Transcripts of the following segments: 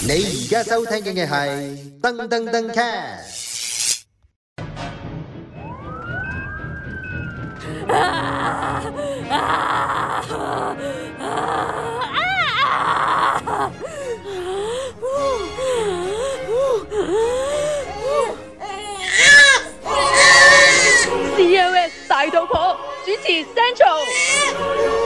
你而家收聽嘅係噔噔噔 cast。 COS 大肚婆主持 Central。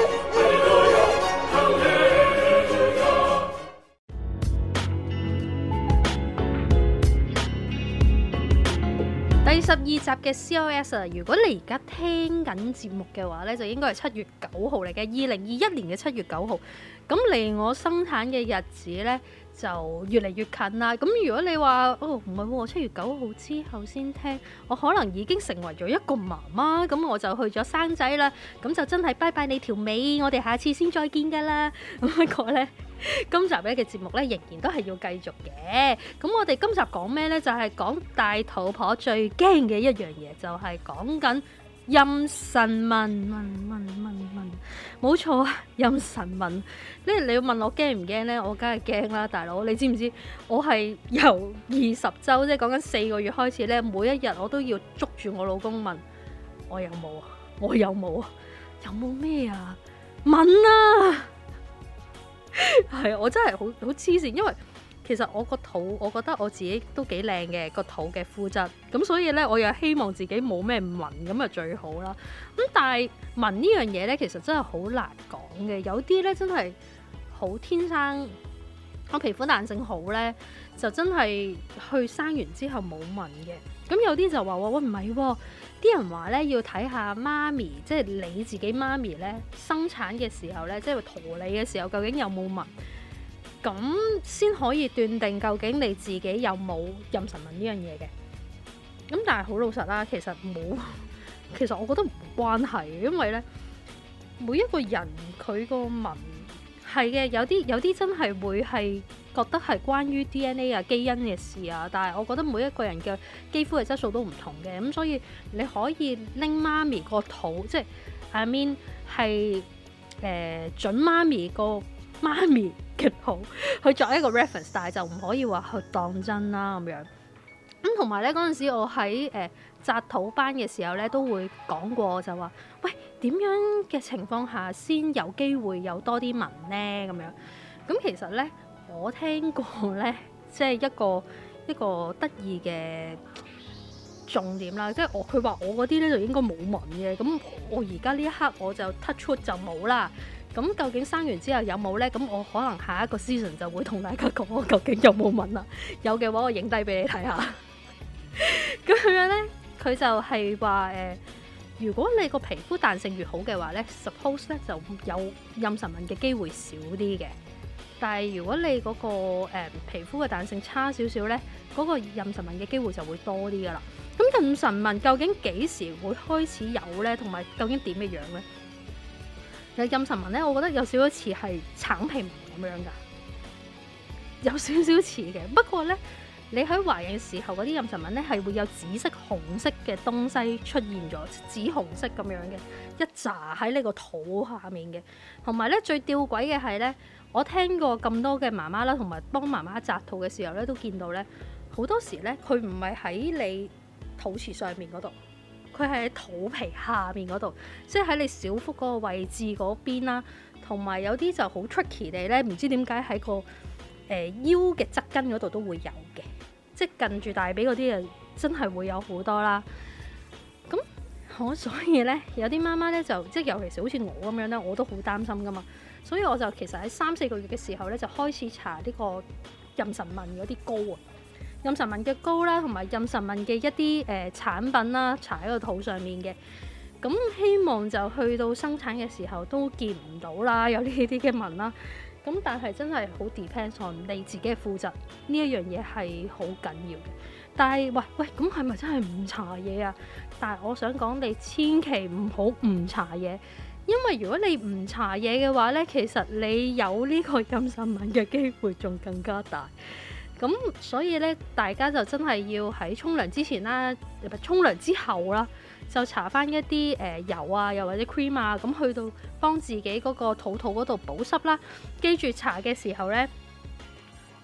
第12集嘅 COS 啊，如果你而家聽緊節目嘅話呢，就應該係7月9號嚟嘅，2021年嘅7月9號。咁離我生產嘅日子呢，就越嚟越近啦。咁如果你話唔係喎，7月9號之後先聽，我可能已經成為咗一個媽媽，咁我就去咗生仔啦。咁就真係拜拜你條尾，我哋下次先再見㗎啦。咁不過呢，今集咧嘅節目咧仍然都係要繼續嘅。咁我哋今集講咩呢？就係講大肚婆最驚嘅一樣嘢，就係講緊妊娠紋。冇錯啊，妊娠紋。你要問我驚唔驚呢？我梗係驚啦，大佬。你知唔知我係由20週，即係講緊4個月開始咧，每一日我都要捉住我老公問我有冇啊？我有冇啊？有冇咩啊？紋啊！係，我真係好黐線，因為其實我個肚，我覺得我自己都幾靚嘅個肚嘅膚質，咁所以咧，我又希望自己冇咩紋咁啊最好啦。咁但係紋呢樣嘢咧，其實真係好難講嘅，有啲咧真係好天生，我皮膚彈性好咧，就真係去生完之後冇紋嘅。咁有啲就話喂，唔係喎，啲人話咧要睇下媽咪，即係你自己媽咪咧生產嘅時候咧，即係陀你嘅時候，究竟有冇紋，咁先可以斷定究竟你自己有冇妊娠紋呢樣嘢嘅。咁但係好老實啦，其實冇，其實我覺得冇關係，因為咧每一個人佢個紋係嘅，有啲真係會係覺得係關於 DNA 啊基因嘅事啊，但係我覺得每一個人嘅肌膚嘅質素都唔同嘅，咁所以你可以拎媽咪個肚，即係 I mean 係準媽咪個媽咪嘅肚去作一個 reference， 但係就唔可以話去當真啦咁樣。咁同埋咧嗰陣時我喺紮肚班嘅時候咧都會講過，就話喂，點樣嘅情況下先有機會有多啲紋呢？咁樣。咁其實咧我聽過咧，即係一個得意嘅重點啦，即係佢話我嗰啲咧就應該冇紋嘅，咁我而家呢一刻我就 touch wood 就冇啦。咁究竟生完之後有冇呢？咁我可能下一個 season 就會同大家講我究竟有冇紋啦。有嘅話我影低俾你睇下。咁樣呢，佢就係話如果你個皮膚彈性越好嘅話呢 suppose 咧就有妊娠紋嘅機會少啲嘅。但係如果你嗰個皮膚嘅彈性差少少呢，嗰個妊娠紋嘅機會就會多啲噶啦。咁妊娠紋究竟幾時會開始有呢？同埋究竟點嘅樣呢？其實妊娠紋咧，我覺得有少少似係橙皮紋咁樣噶，有少少似嘅。不過咧，你喺懷孕時候嗰啲妊娠紋咧係會有紫色、紅色嘅東西出現咗，紫紅色咁樣嘅一紮喺你個肚下面嘅。同埋咧，最吊詭嘅係咧，我聽過咁多嘅媽媽啦，同埋幫媽媽紮肚嘅時候咧，都見到咧好多時咧，佢唔係喺你肚臍上面嗰度。佢係喺肚皮下面嗰度，即係喺你小腹嗰個位置嗰邊啦。同埋有啲就好 tricky 地咧，唔知點解喺個腰嘅側根嗰度都會有嘅，即係近住大髀嗰啲啊，真係會有好多啦。咁所以咧，有啲媽媽咧就即係尤其是好似我咁樣咧，我都好擔心噶嘛。所以我就其實喺3-4個月嘅時候咧，就開始搽呢個妊娠紋嗰啲膏啊。妊娠紋嘅膏啦，同埋妊娠紋嘅一啲產品啦，搽喺個肚上面嘅。咁希望就去到生產嘅時候都見唔到啦，有呢啲嘅紋啦。咁但係真係好 depends on 你自己嘅膚質，呢一樣嘢係好緊要嘅。但係喂，咁係咪真係唔搽嘢啊？但係我想講你千祈唔好唔搽嘢，因為如果你唔搽嘢嘅話呢，其實你有呢個妊娠紋嘅機會仲更加大。咁所以咧，大家就真係要喺沖涼之前啦，沖涼之後啦，就搽翻一啲油啊，又或者 cream 啊，咁去到幫自己嗰個肚嗰度保濕啦。記住搽嘅時候咧，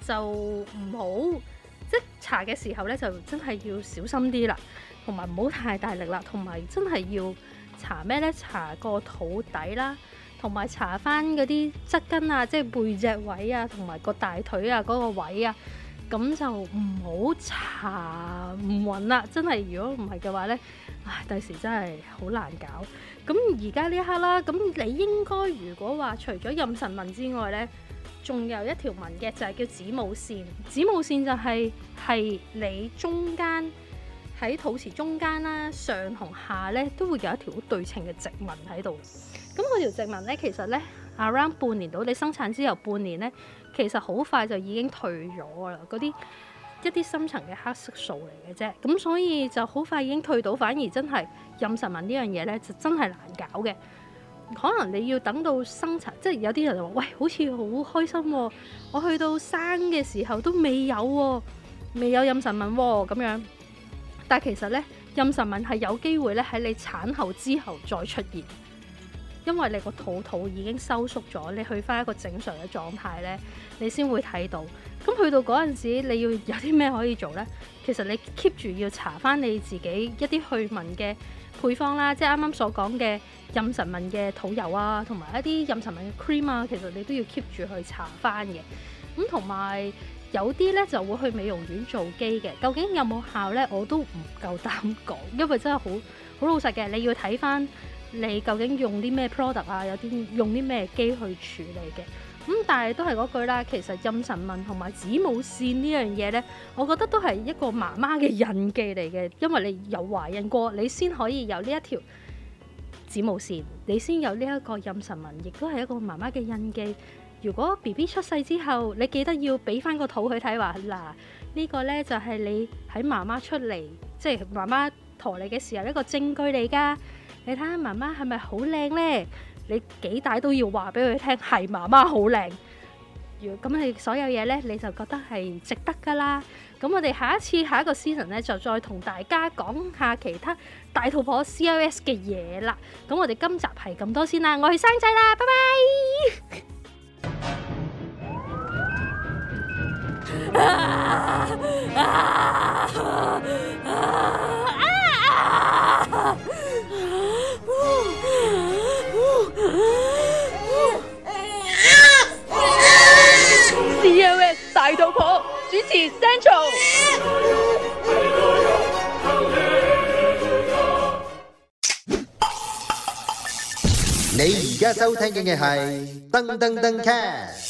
就唔好即係搽嘅時候咧，就真係要小心啲啦，同埋唔好太大力啦，同埋真係要搽咩咧？搽個肚底啦，同埋搽翻嗰啲側筋啊，即係背脊位啊，同埋個大腿啊嗰個位啊，咁就唔好搽唔勻啦。真係如果唔係嘅話咧，唉，第時真係好難搞。咁而家呢一刻啦，咁你應該如果話除咗妊娠紋之外咧，仲有一條紋嘅就係叫子母線。子母線就係你中間喺肚臍中間啦，上同下咧都會有一條好對稱嘅直紋喺度。咁嗰條直紋咧，其實咧 around 半年到你生產之後半年咧，其實好快就已經退咗㗎啦。嗰啲一啲深層嘅黑色素嚟嘅啫，咁所以就好快已經退到，反而真係妊娠紋呢樣嘢咧就真係難搞嘅。可能你要等到生產，即係有啲人就話：喂，好似好開心喎！我去到生嘅時候都未有喎，未有妊娠紋喎咁樣。但係其實咧，妊娠紋係有機會咧喺你產後之後再出現，因為你個肚已經收縮咗，你去翻一個正常嘅狀態咧，你先會睇到。咁去到嗰陣時，你要有啲咩可以做咧？其實你 keep 住要搽翻你自己一啲去紋嘅配方啦，即係啱啱所講嘅妊娠紋嘅肚油啊，同埋一啲妊娠紋嘅 cream 啊，其實你都要 keep 住去搽翻嘅。咁同埋有啲咧就會去美容院做機嘅，究竟有冇效咧？我都唔夠膽講，因為真係好老實嘅，你要睇翻你究竟用啲咩 product 啊，有啲用啲咩機去處理嘅。但係都係嗰句啦，其實妊娠紋同埋子母線呢樣嘢呢，我覺得都係一個媽媽嘅印記嚟嘅，因為你有懷孕過，你先可以有呢一條子母線，你先有呢一個妊娠紋，亦都係一個媽媽嘅印記。如果 BB 出世之後，你記得要俾翻個肚佢睇，話嗱，呢個呢就係你喺媽媽出嚟，即係媽媽陀你嘅時候一個證據嚟㗎。你睇下媽媽係咪好靚呢？你幾大都要話俾佢聽，係媽媽好靚。咁你所有嘢呢，你就覺得係值得㗎啦。咁我哋下一個 season 呢，就再同大家講下其他大肚婆 COS 嘅嘢啦。咁我哋今集係咁多先啦，我去生仔啦，拜拜。 COS 大肚婆主持 Central。 你而家收聽嘅係噔噔噔 cast。